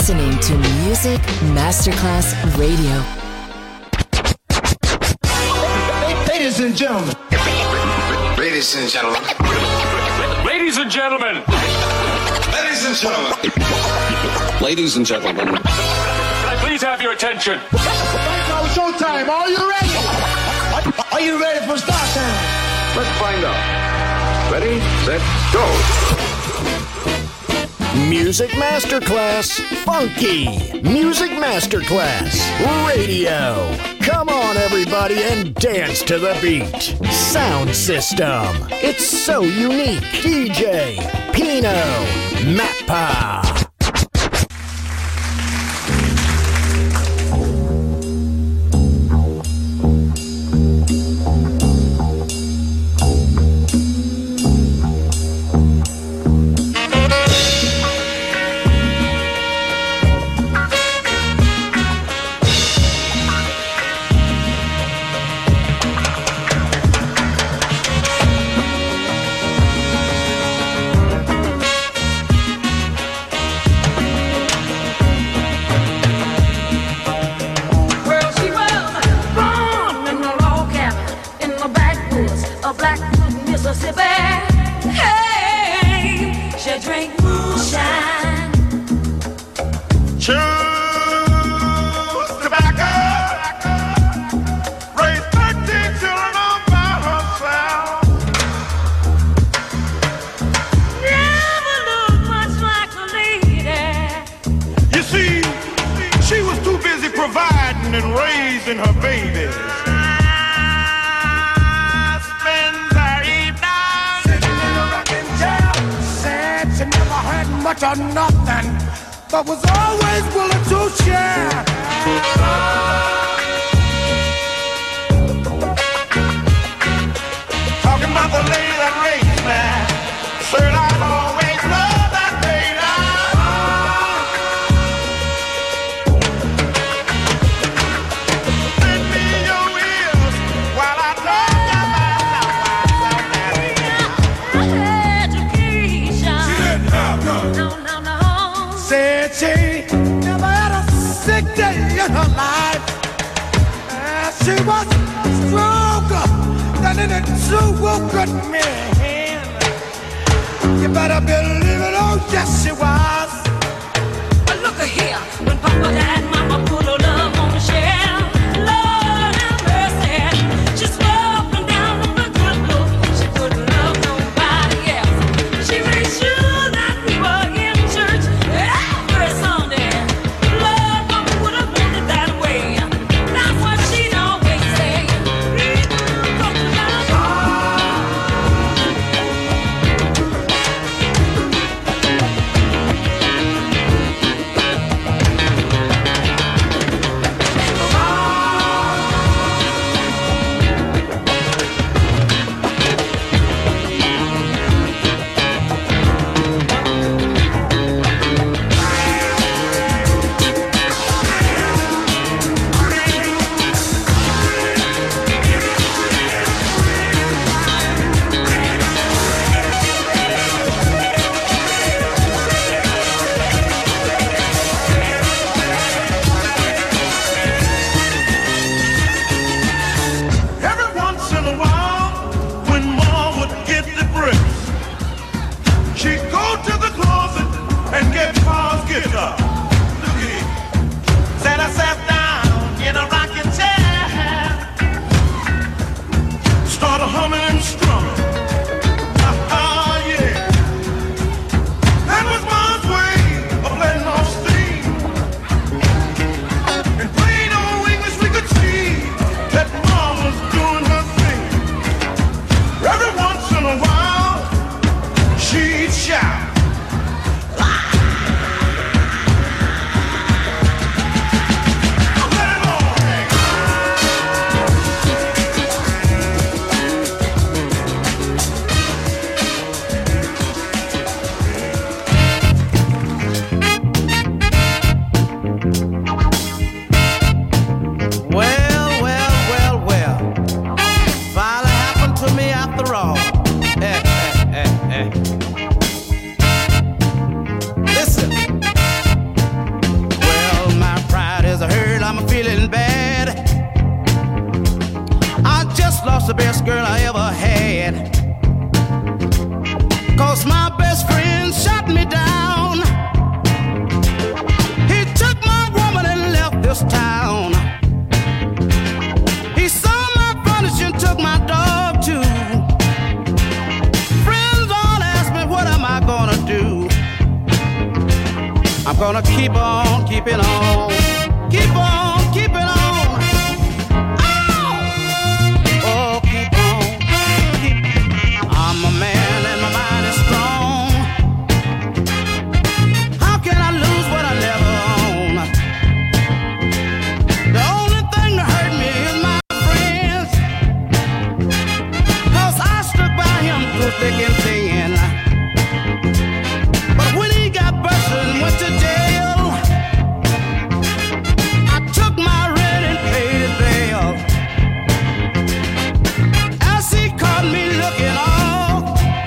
listening to Music Masterclass Radio. Ladies and gentlemen. Ladies and gentlemen. Ladies and gentlemen. Ladies and gentlemen. Ladies and gentlemen. Can I please have your attention? Now showtime. Are you ready? Are you ready for start time? Let's find out. Ready, set, go. Music Masterclass Funky. Music Masterclass Radio. Come on, everybody, and dance to the beat. Sound system. It's so unique. DJ Pino Mappa. gonna keep on keeping on. Keep on keeping on. Oh, keep on. I'm a man and my mind is strong. How can I lose what I never own? The only thing that hurt me is my friends, 'cause I stood by him through thick and thin. But when he got busted and went to jail, I took my rent and paid his bail. As he caught me looking off,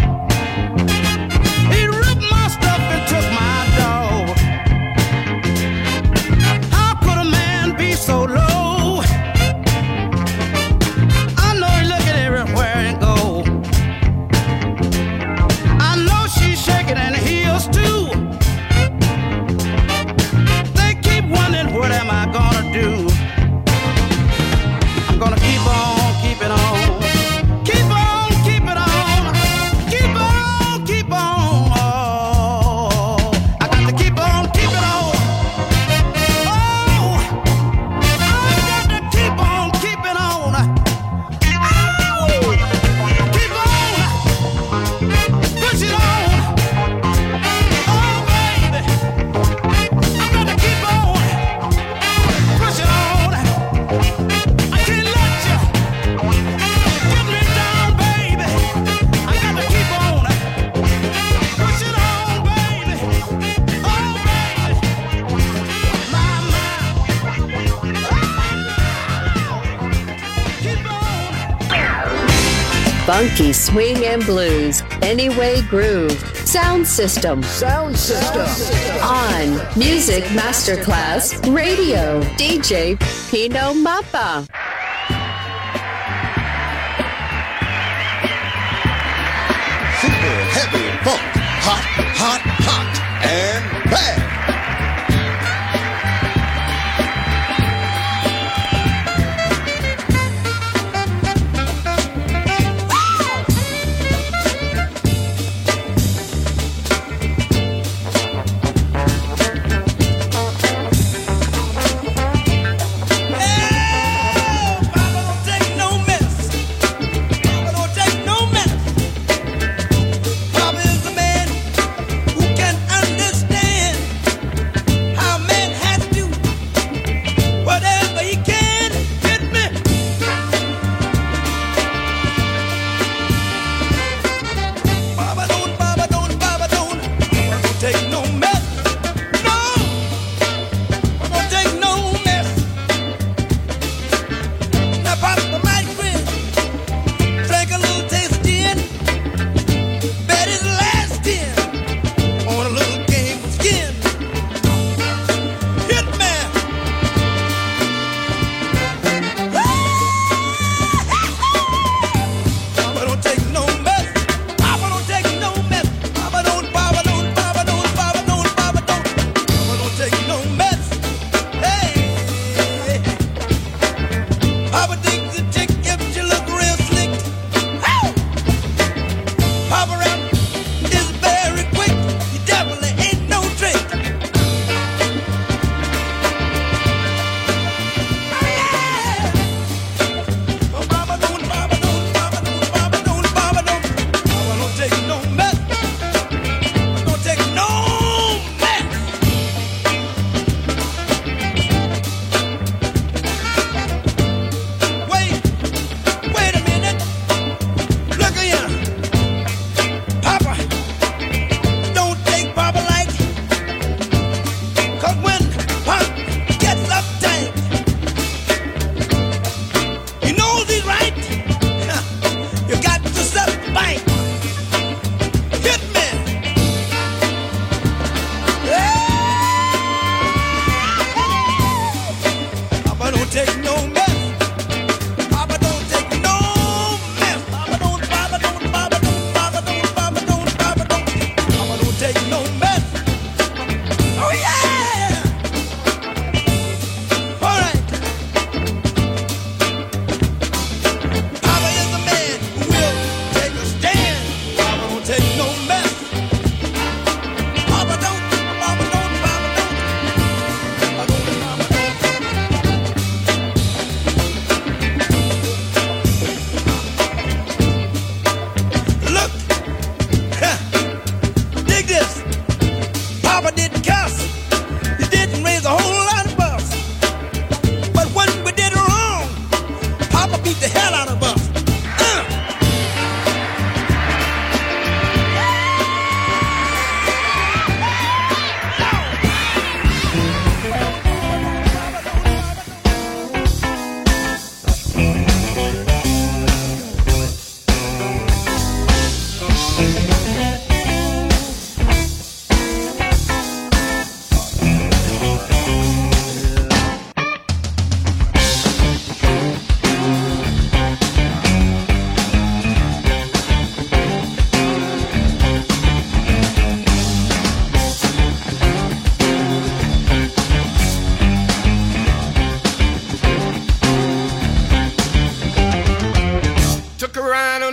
he ripped my stuff and took my dog. How could a man be so low? I know he looking everywhere and go. I know she's shaking in the heels too. They keep wondering what am I gonna do. I'm gonna keep on keeping on. Keep on keeping on. Keep on keep on. Oh, I got to keep on keeping on. Oh, I got to keep on keeping on. Oh, keep on. Push it on. Oh, baby. I got to keep on. Push it on. I can't let you get me down, baby. I got to keep on. Push it on, baby. Oh, baby. My. Keep on. Funky swing and blues. Anyway Groove. Sound System. Sound system. On Music Masterclass Radio. DJ Pino Mappa. Super heavy funk. Hot, hot, hot. And bad. Who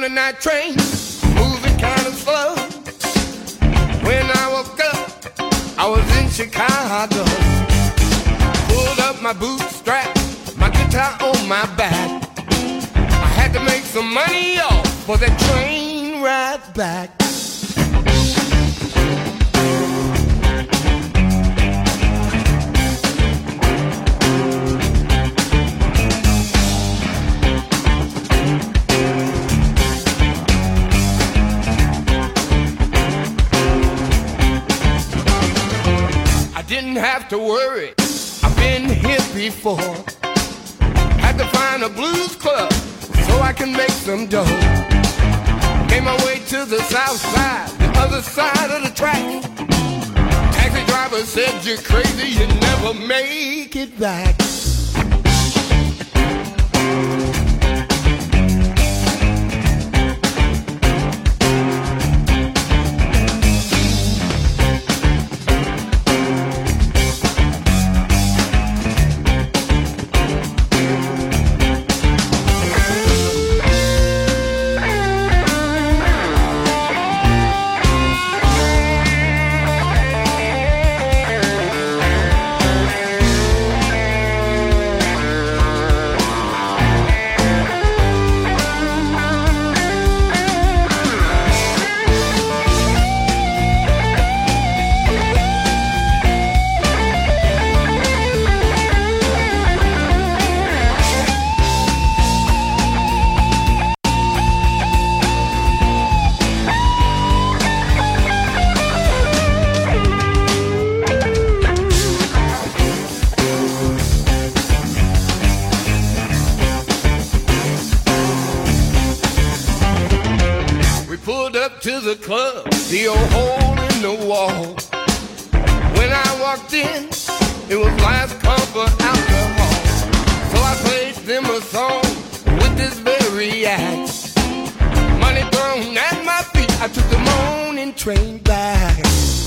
midnight train, moving kind of slow. When I woke up, I was in Chicago. Pulled up my bootstrap, my guitar on my back. I had to make some money off for that train ride back. Didn't have to worry, I've been here before. Had to find a blues club so I can make some dough. Made my way to the south side, the other side of the track. Taxi driver said, you're crazy, you never make it back. To the club, the old hole in the wall. When I walked in, it was last call for alcohol. So I played them a song with this very act. Money thrown at my feet, I took the morning train back.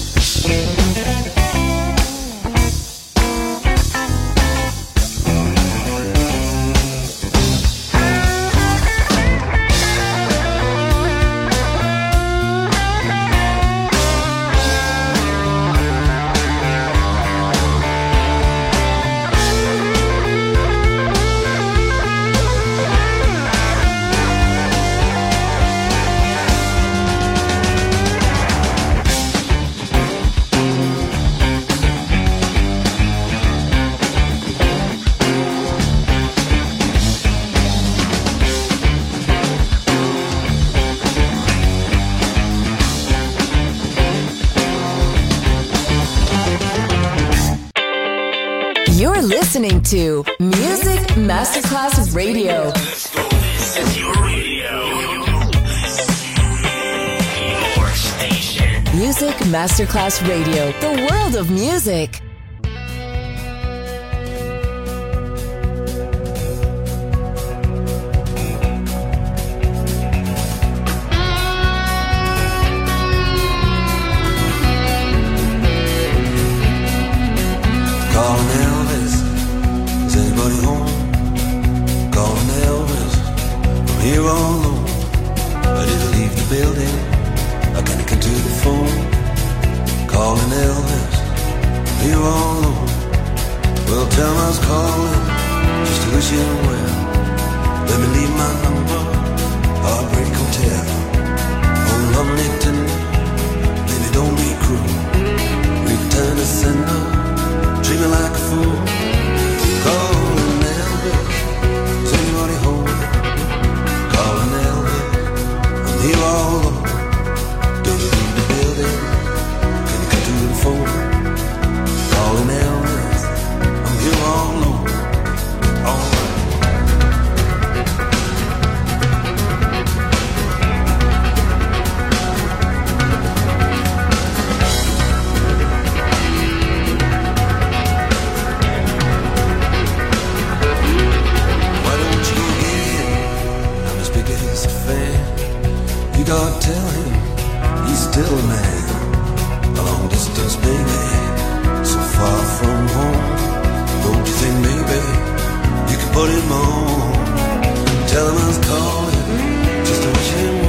You're listening to Music Masterclass Radio. This is your radio. Your station. Music Masterclass Radio. The world of music. Here all alone, ready to leave the building. I can't get to the phone, calling Elvis. Here all alone, well tell him I was calling just to wish him well. Let me leave my number, Heartbreak Hotel. Oh lovely tender, baby don't be cruel. Return to sender, treat me like a fool. Calling Elvis, is anybody home? Calling Elvis, I'm here all alone. Don't you leave the building? Can you come to the phone? Calling Elvis, I'm here all alone. All right. Why don't you get in? I'm as big as a fan. You gotta tell him he's still a man. A long distance baby, so far from home. Don't you think maybe you could put him on? Tell him I was calling just to wish him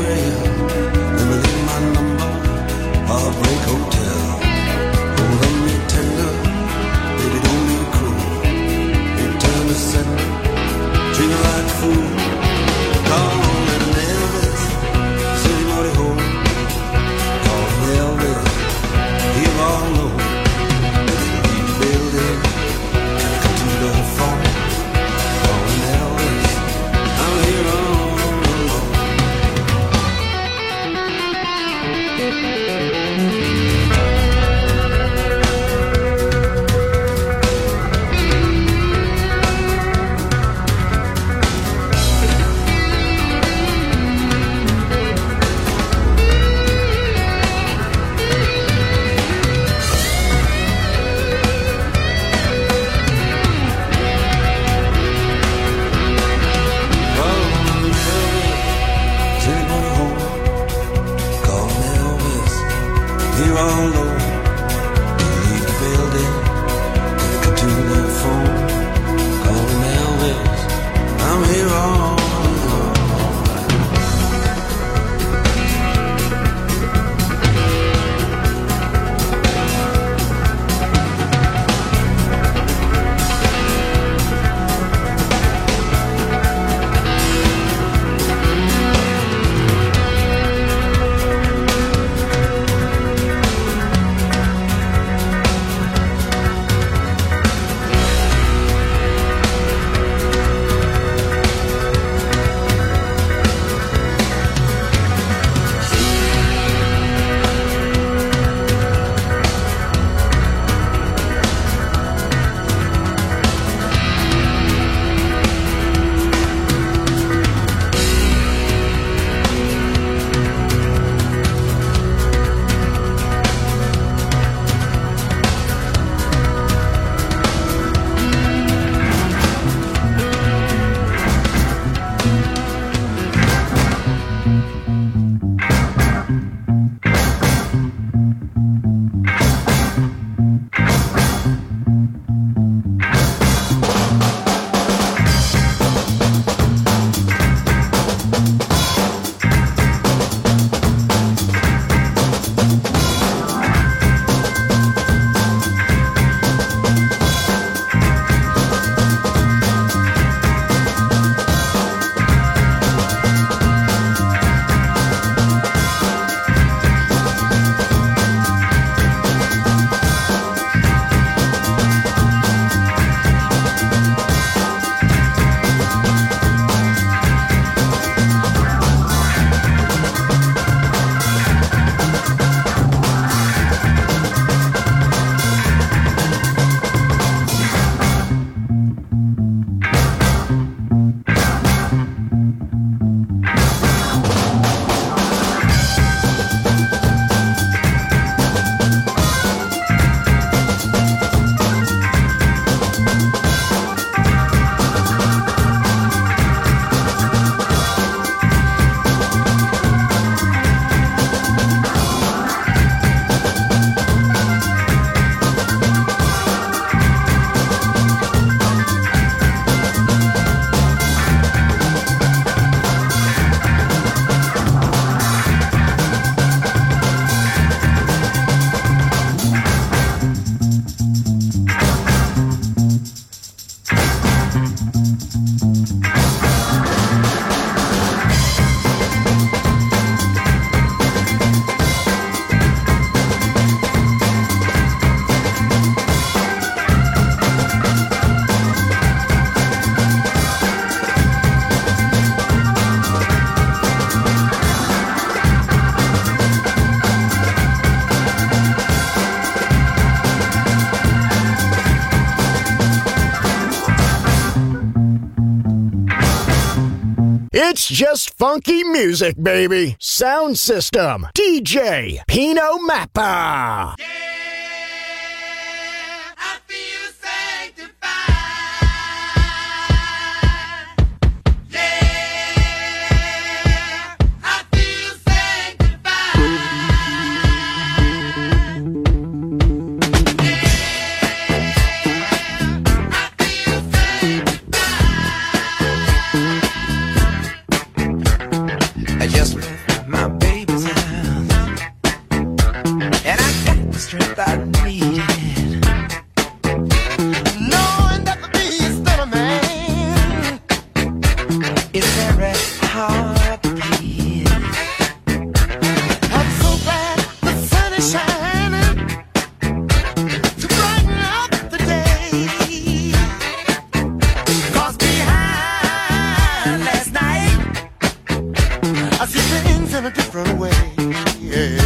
It's just funky music, baby. Sound system, DJ Pino Mappa. I just left my baby's house, and I got the strength I needed. Knowing that to be still a man is very hard to please. I'm so glad the sun is shining to brighten up the day. 'Cause behind last night I see things in a different way. Yeah.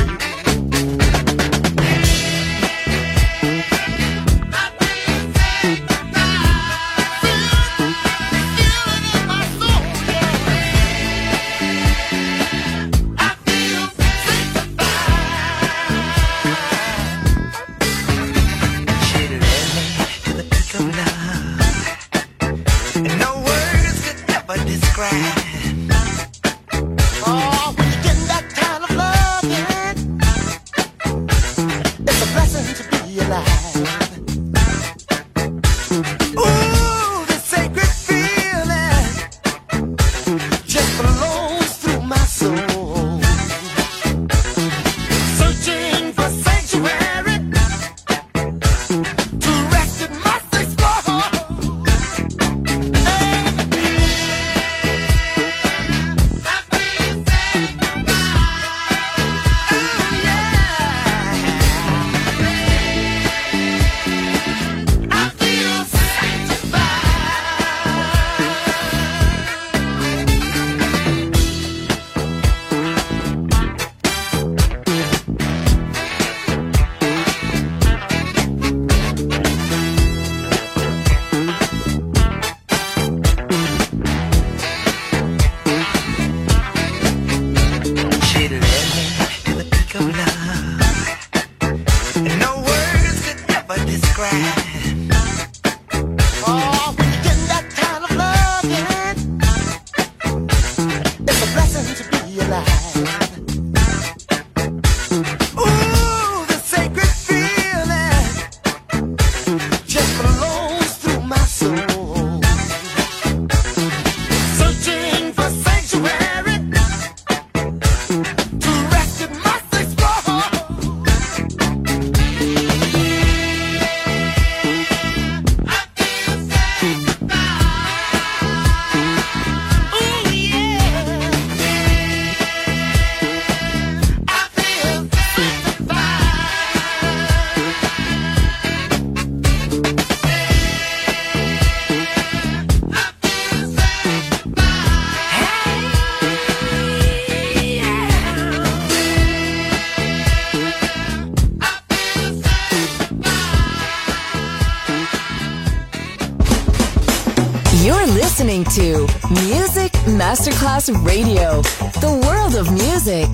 You're listening to Music Masterclass Radio, the world of music.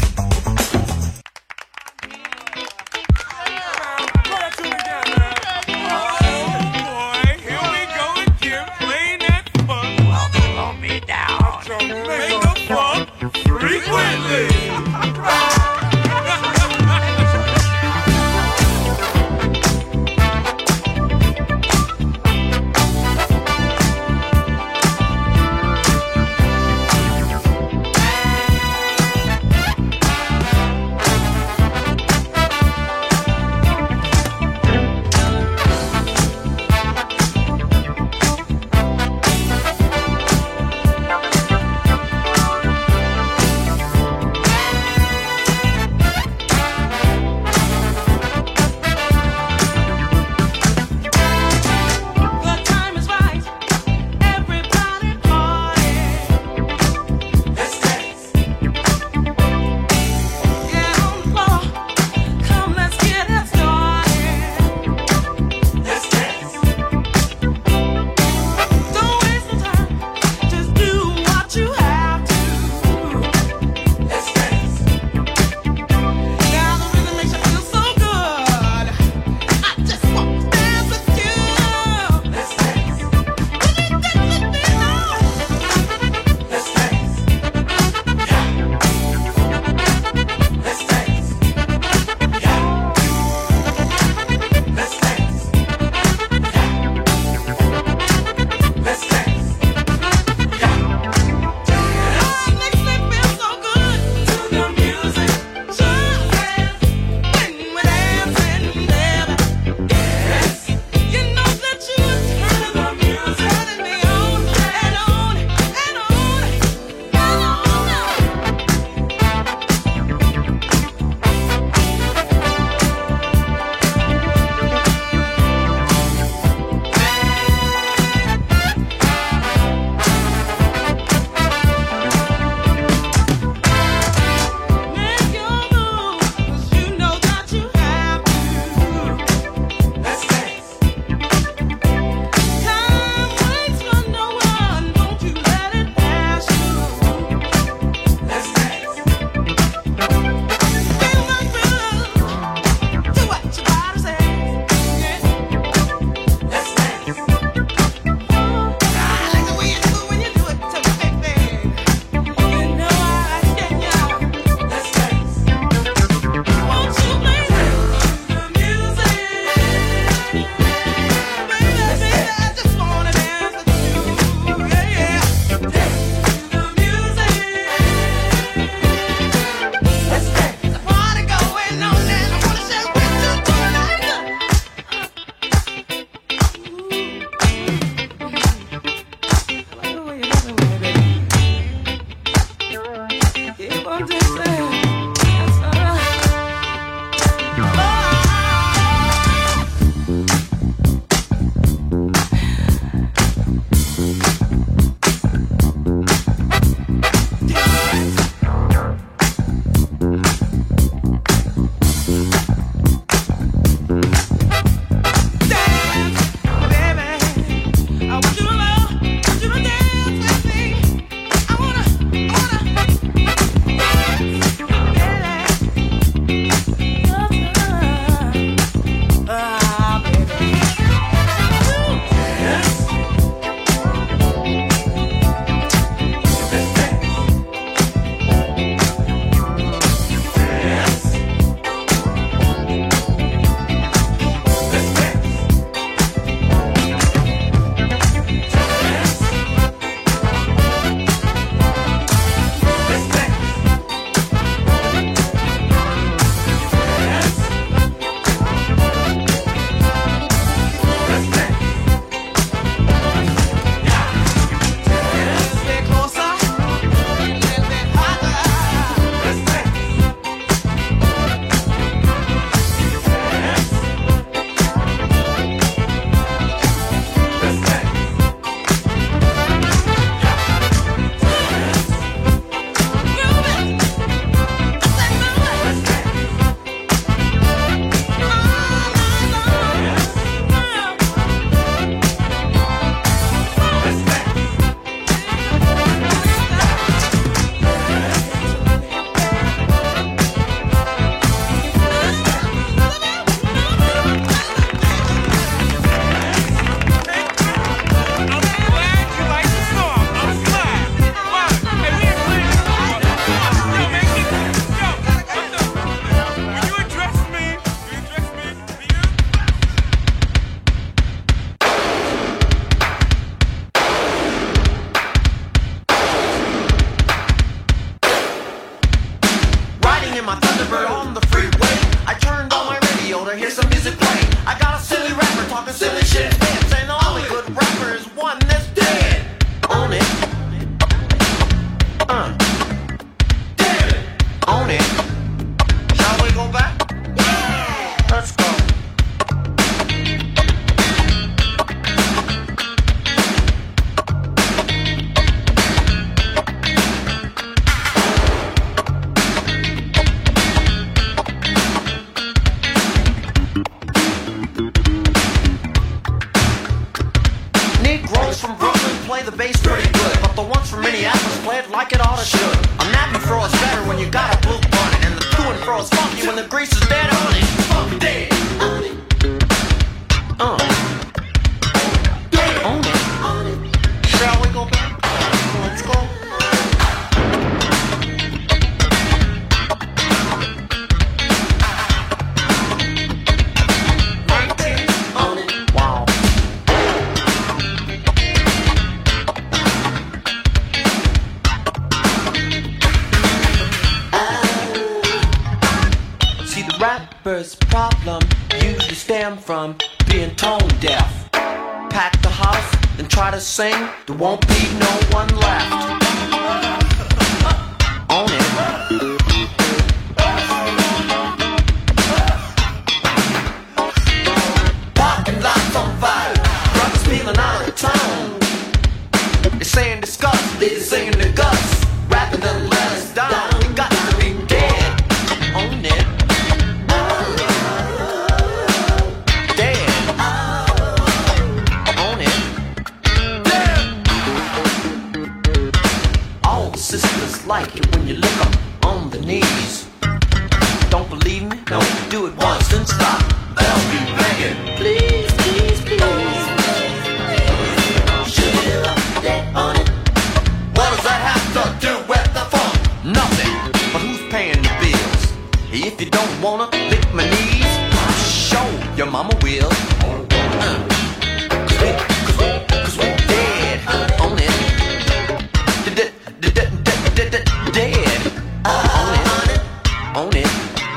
play the bass pretty good, but the ones from Minneapolis play it like it oughta should. A nap and fro is better when you got a blue bunny, and the to and fro is funky when the grease is dead on it. Funky dead on it. Dead on it. Shall we go back? Let's go. Rapper's problem usually stem from being tone deaf. Pack the house and try to sing, there won't be no one left. Own it. Parking lots on fire, brothers feeling out of town. They're saying disgust, they're singing the guts. Rather than let us down, we got to be dead. Own it. Sisters like it when you look up on the knees. Don't believe me? No, do it once and stop. They'll be begging. Please, please, please. Should you look dead on it? What does that have to do with the funk? Nothing. But who's paying the bills? If you don't wanna lick my knees, show your mama will. Cause we're dead on it. Dead. Own it.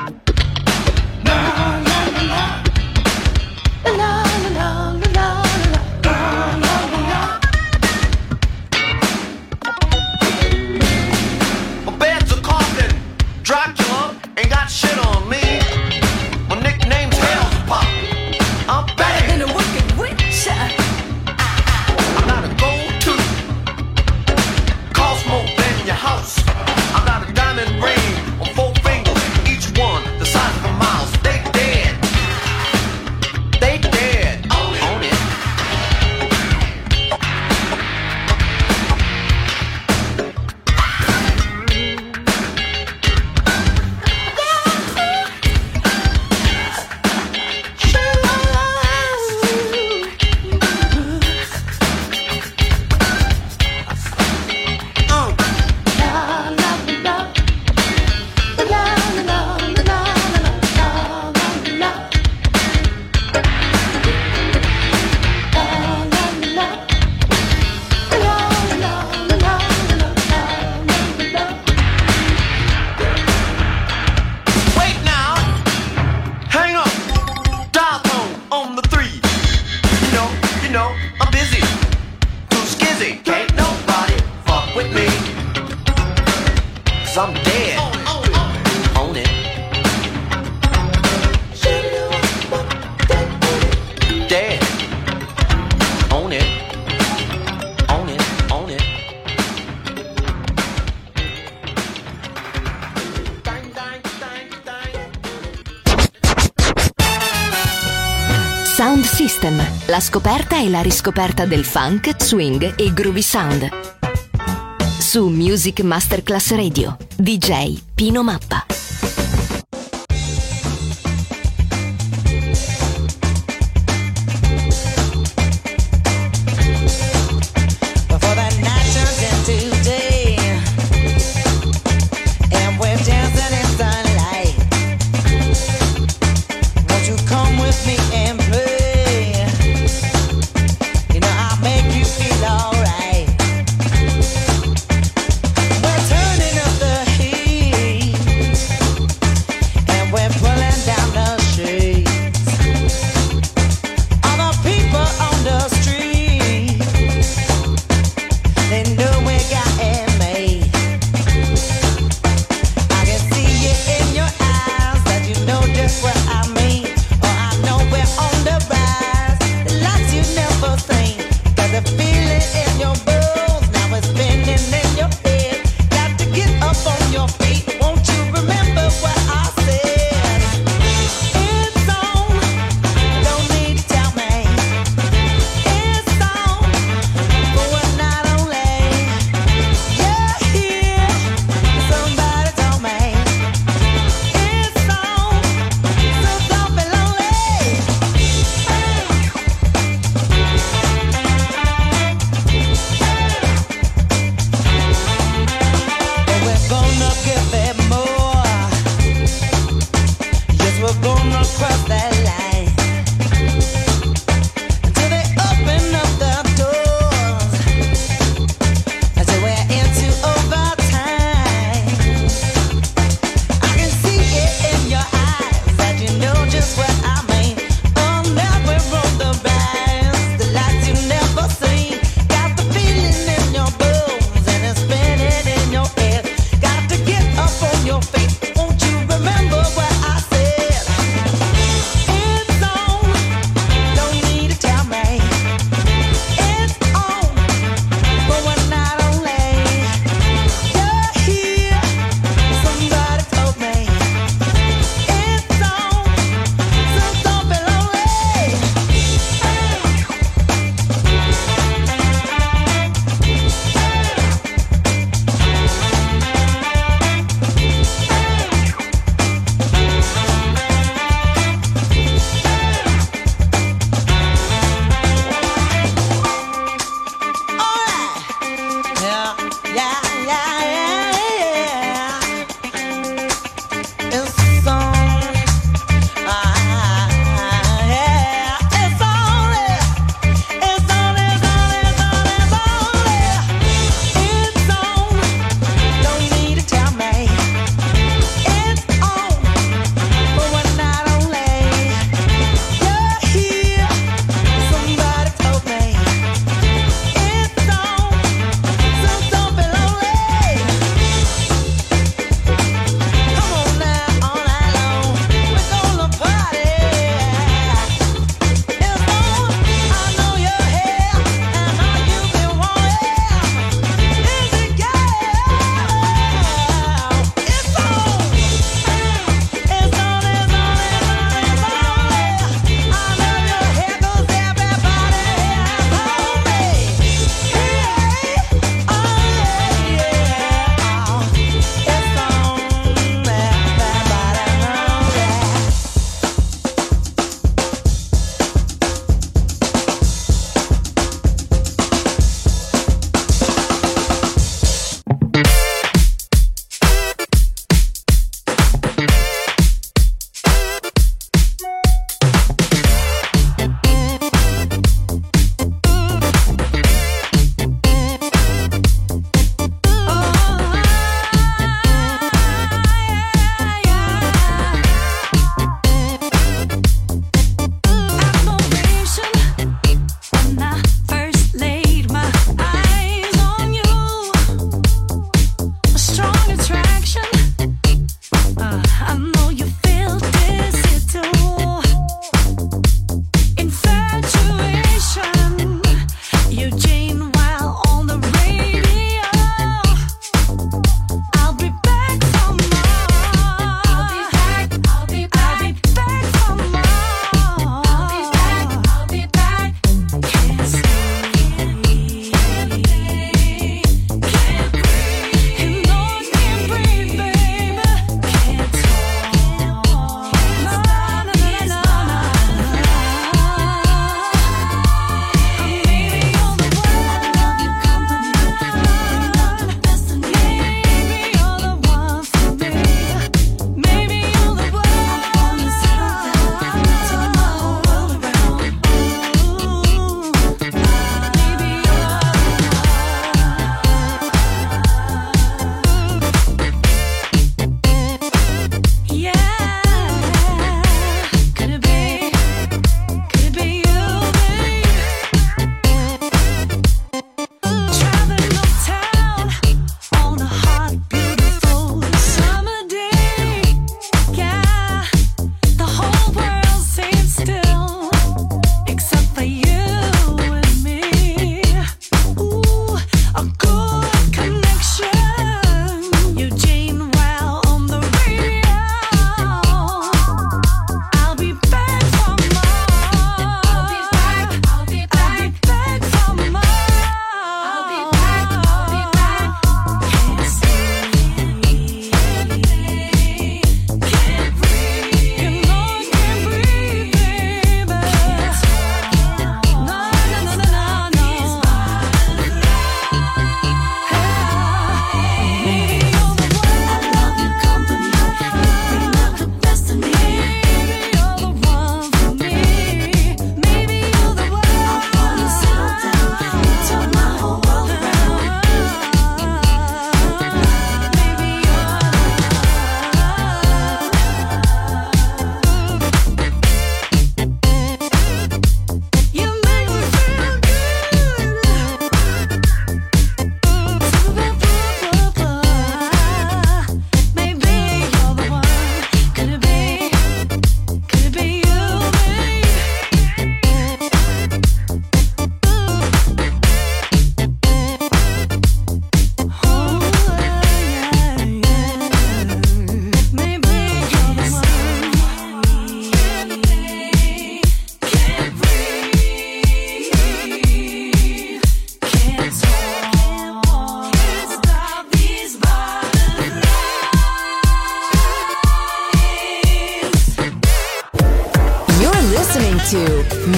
My bed's a coffin. Dracula ain't got shit on me. My nickname's Hell's Pop. I'm better than a wicked witch. I'm not a go-to. Cost more than your house. I got a diamond ring on 4 fingers, each one the size of a mouse. They dead. They dead. Own it. I'm dead. Own it. Dead. Own it. Own it. Own it. Sound System, la scoperta e la riscoperta del funk, swing e groovy sound. Su Music Masterclass Radio, DJ Pino Mappa. We're turning up the heat.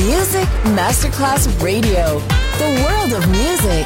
Music Masterclass Radio. The world of music.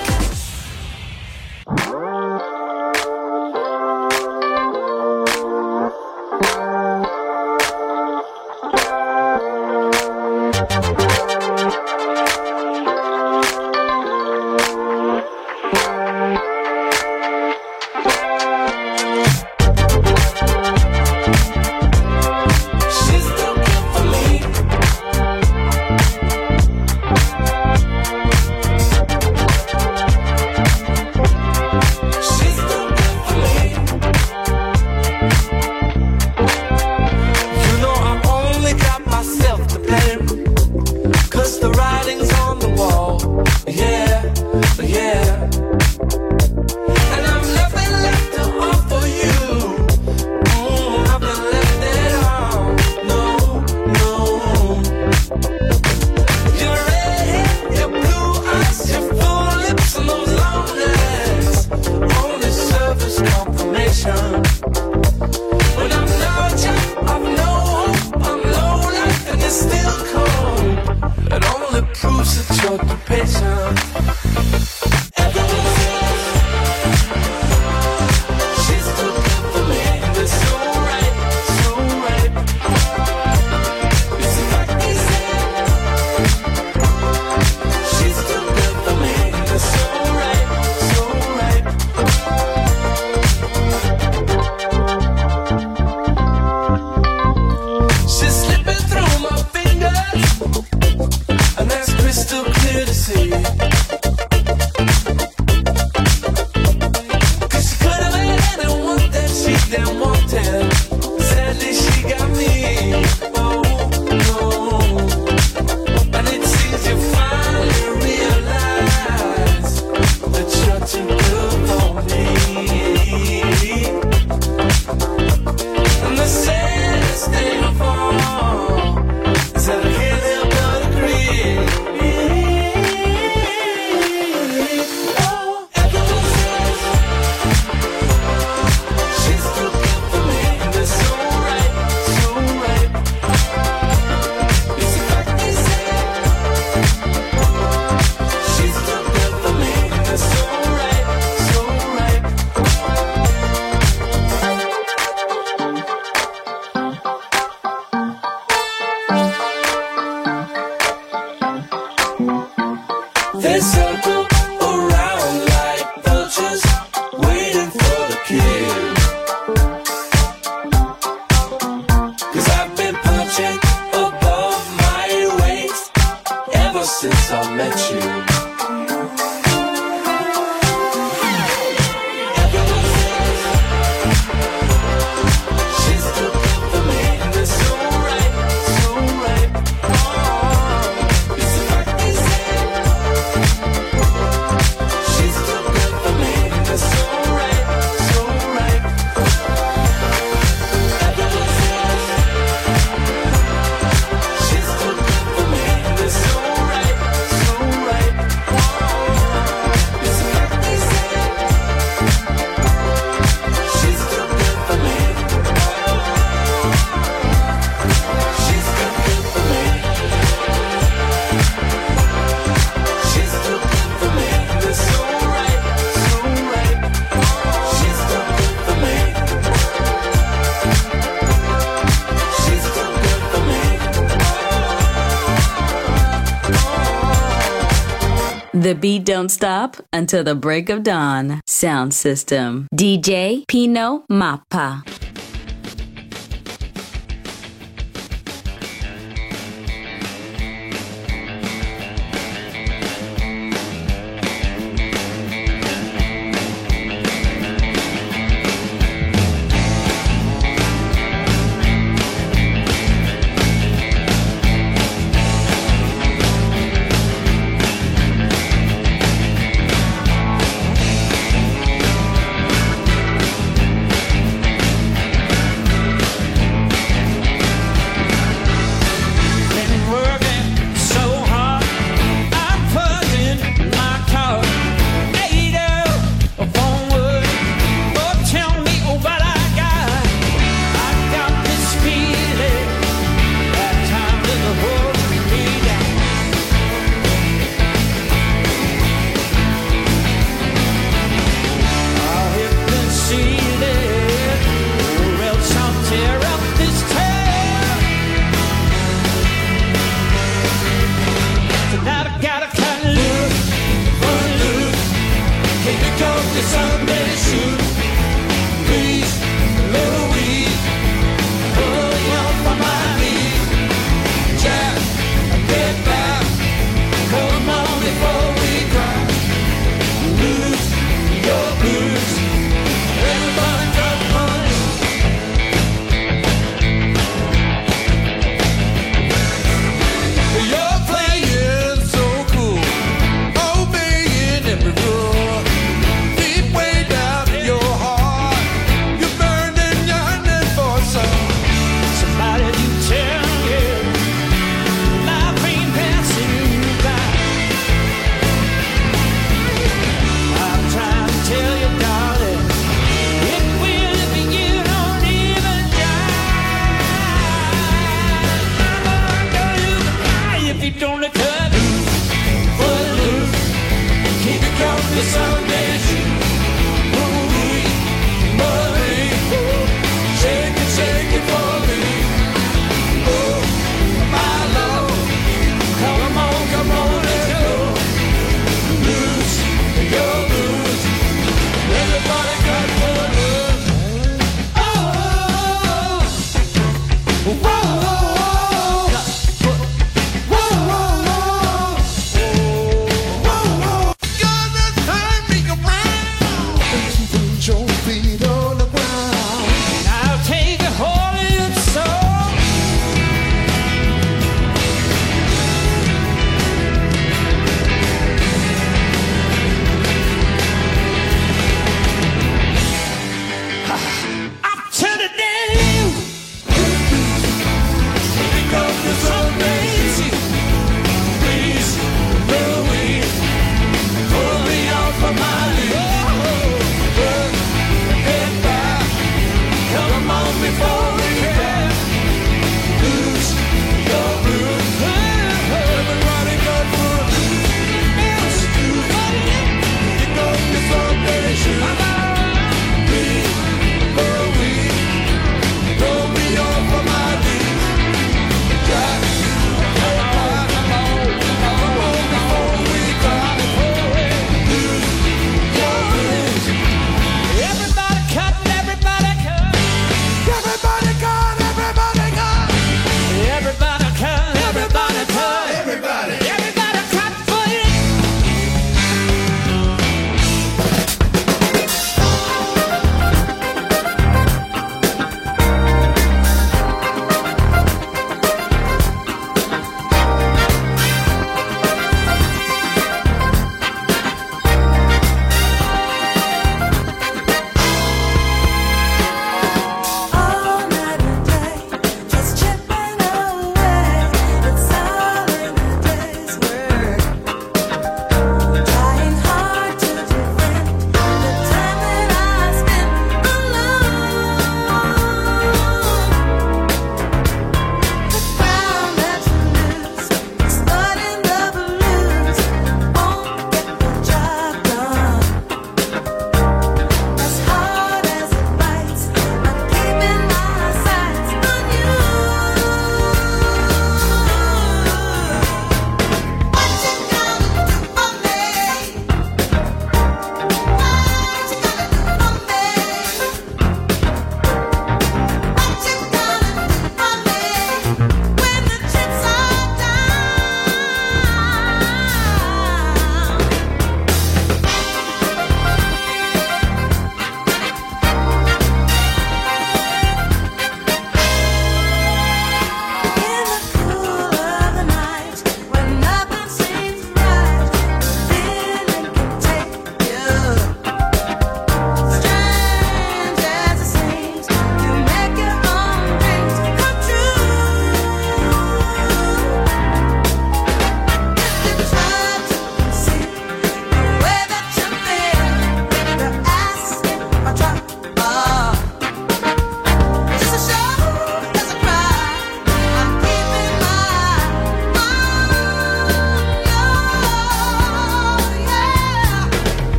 The beat don't stop until the break of dawn. Sound System. DJ Pino Mappa.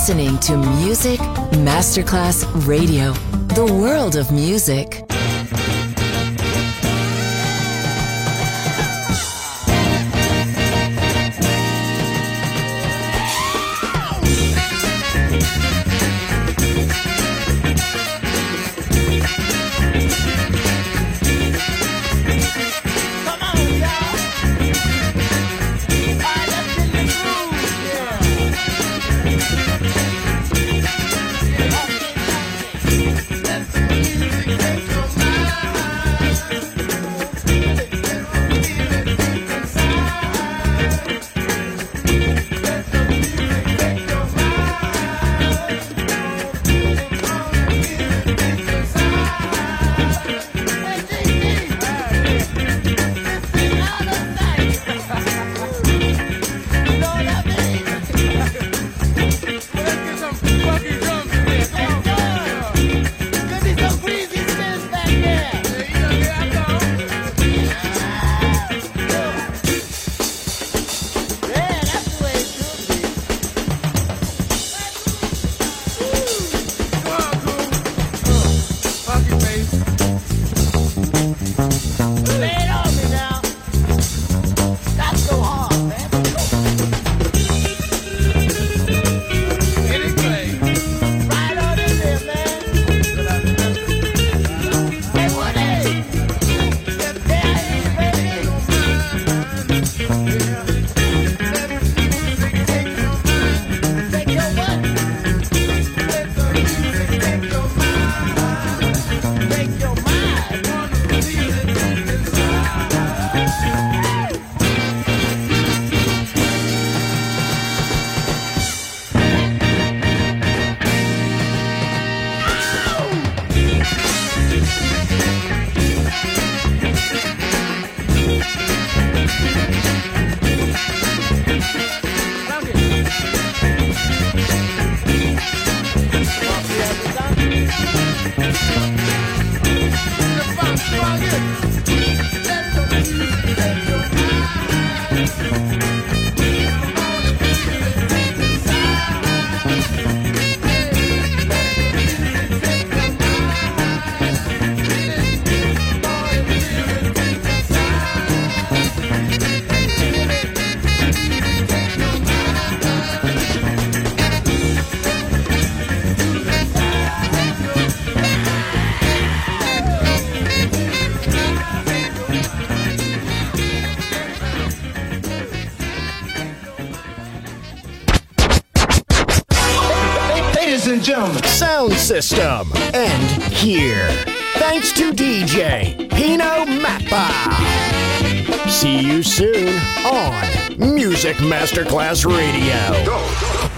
listening to Music Masterclass Radio, the world of music. Sound system. And here. Thanks to DJ Pino Mappa. See you soon on Music Masterclass Radio. Go.